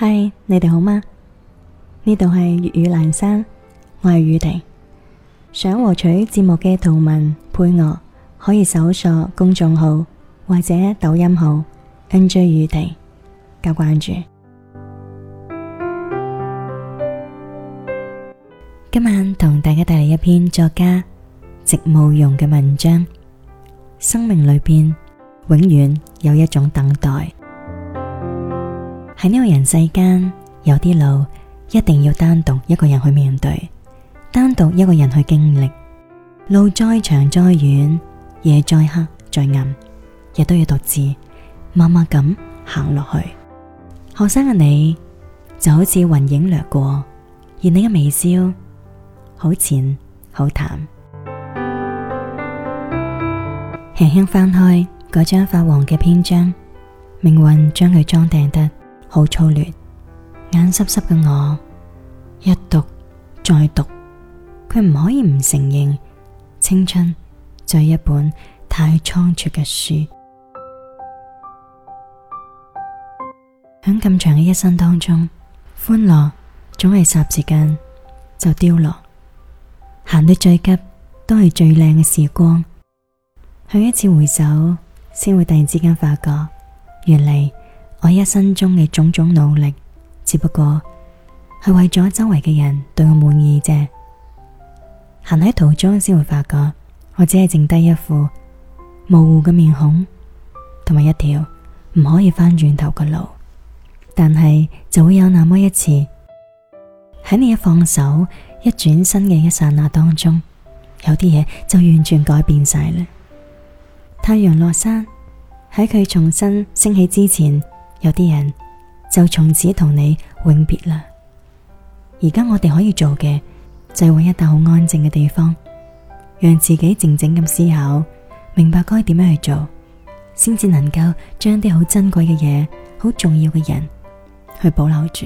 嗨，你哋好嗎？呢度係粵語闌珊，我係宇婷。想獲取節目嘅圖文配樂，可以搜索公眾號或者抖音號 NJ 宇婷加關注。今晚同大家帶嚟一篇作家席慕蓉嘅文章。生命裏邊永遠有一種等待。喺呢個人世間，有啲路一定要單獨一個人去面對，單獨一個人去經歷。路再長再遠，夜再黑再暗，亦都要獨自默默咁行落去。學生嘅你就好似雲影掠過，而你嘅微笑好淺好淡。輕輕翻開嗰張發黃嘅篇章，命運將佢裝訂得好粗劣。眼濕濕嘅我一讀再讀，佢唔可以唔承認青春就係一本太倉促嘅書。響咁長嘅一生當中，歡樂總係霎時間就凋落，行得最急都係最靚嘅時光。向一次回首，先會突然之間發覺，原嚟我一生中嘅種種努力，只不過係為咗周圍嘅人對我滿意啫。行喺途中，先會發覺我只係剩低一副模糊嘅面孔，同埋一條唔可以翻轉頭嘅路。但係就會有那麼一次，喺你一放手、一轉身嘅一剎那當中，有啲嘢就完全改變晒啦。太陽落山，喺佢重新升起之前，有啲人就從此同你永別啦。而家我哋可以做嘅就係揾一笪好安靜嘅地方，讓自己靜靜咁思考，明白該點樣去做，先至能夠將啲好珍貴嘅嘢、好重要嘅人去保留住。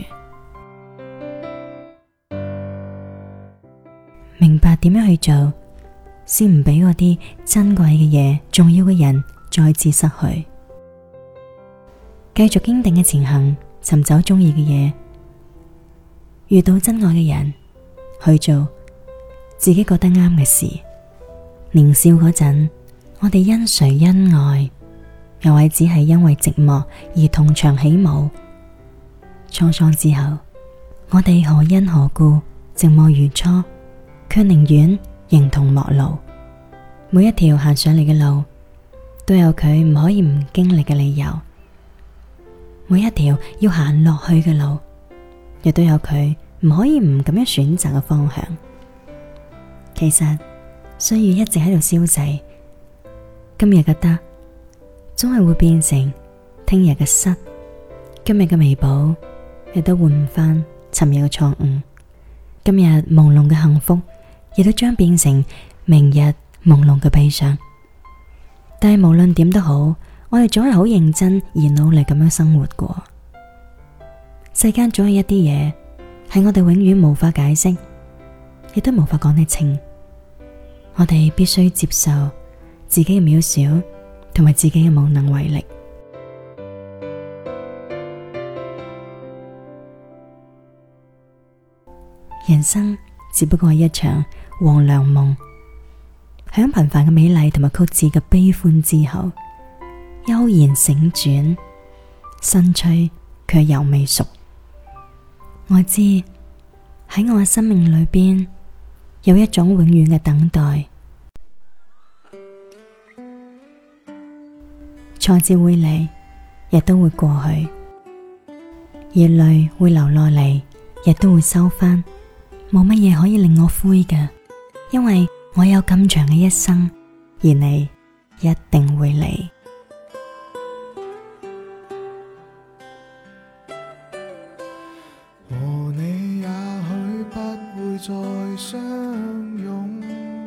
明白點樣去做，先唔俾嗰啲珍貴嘅嘢、重要嘅人再次失去。繼續堅定嘅前行，尋找中意嘅嘢，遇到真愛嘅人，去做自己覺得啱嘅事。年少嗰陣，我哋因誰因愛，又或只係因為寂寞而同場起舞。滄桑之後，我哋何因何故寂寞如初，卻寧願形同陌路。每一條行上嚟嘅路，都有佢唔可以唔經歷嘅理由。每一條要行落去嘅路，亦都有佢唔可以唔咁樣選擇嘅方向。其實歲月一直喺度消逝，今日嘅得總係會變成聽日嘅失，今日嘅彌補亦都換唔翻尋日嘅錯誤，今日朦朧嘅幸福亦都將變成明日朦朧嘅悲傷。但係無論點都好，我哋總係好認真而努力咁樣生活過。世間總有一啲嘢係我哋永遠無法解釋，亦都無法講得清。我哋必須接受自己嘅渺小，同埋自己嘅無能為力。人生只不過係一場黃粱夢，響平凡嘅美麗同埋曲折嘅悲歡之後，悠然醒轉，新催卻猶未熟。我知喺我嘅生命裏邊有一種永遠嘅等待，挫折會嚟，亦都會過去，熱淚會流落嚟，亦都會收返。冇乜嘢可以令我灰嘅，因為我有咁長嘅一生，而你一定會嚟。 和你也許不會再相擁，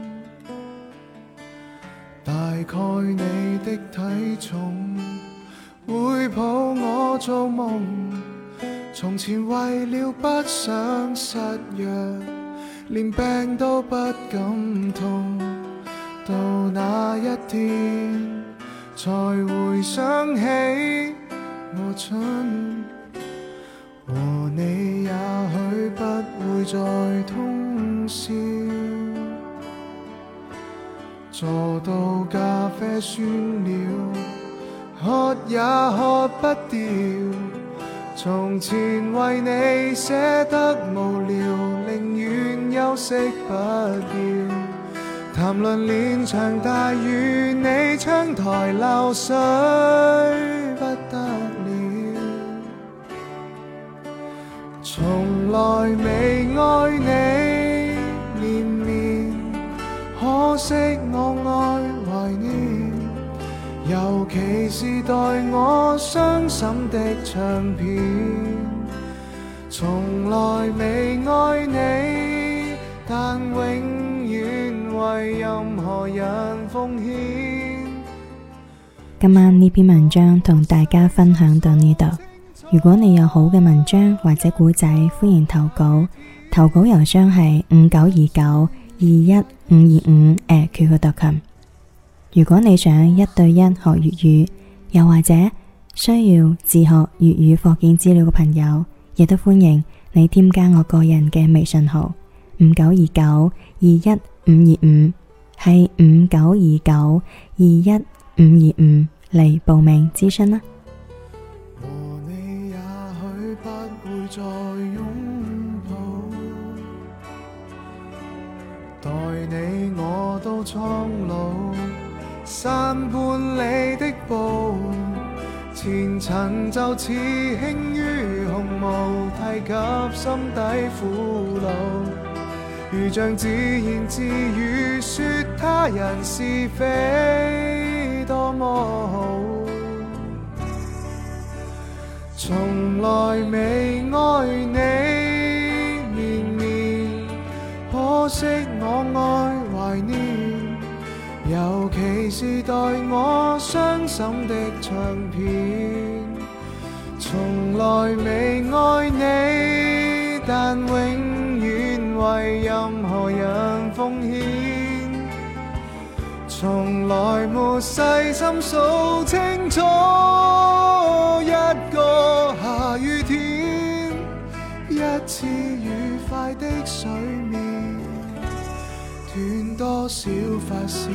大概你的體重會抱我做夢。從前為了不想失約，連病都不敢痛，到那一天才回想起我蠢和啡酸了，喝也喝不掉。從前為你寫得無聊，寧願休息不要。談論連場大雨，你窗台漏水不得了。從來未愛你連綿，可惜我愛懷念，尤其是待我傷心的唱片。從來未愛你，但永遠為任何人奉獻。 今晚呢篇文章同大家分享到呢度。如果你有好嘅文章或者古仔，歡迎投稿。投稿郵箱係5929215525@qq.com。如果你想1對1學粵語，又或者需要自學粵語課件資料嘅朋友，亦都歡迎你添加我個人嘅微信號5929215525，係5929215525嚟報名諮詢啦。 和你也許不會再擁抱，待你我都蒼老，山半里的步，前塵就似輕於鴻毛，提及心底苦惱，如像自言自語，說他人是非多麼好。從來未愛你連綿，可惜我愛懷念，尤其是待我傷心的唱片。從來未愛你，但永遠為任何人奉獻。從來沒細心數清楚一個下雨天，一次愉快的水面，斷多少髮線。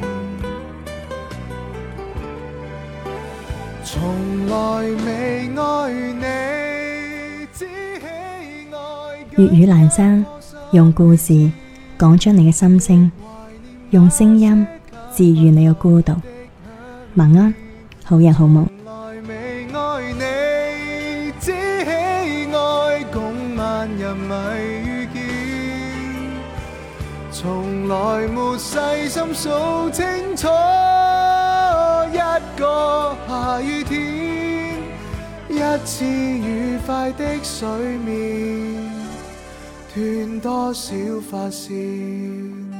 從來未愛你，只喜愛粵語闌珊，用故事講出你嘅心聲，用聲音治愈你嘅孤獨。晚安，好人好夢。 從來未愛你，只喜愛共萬人迷遇見，從來沒細心數清楚一個下雨天，一次愉快的水面，斷多少髮線。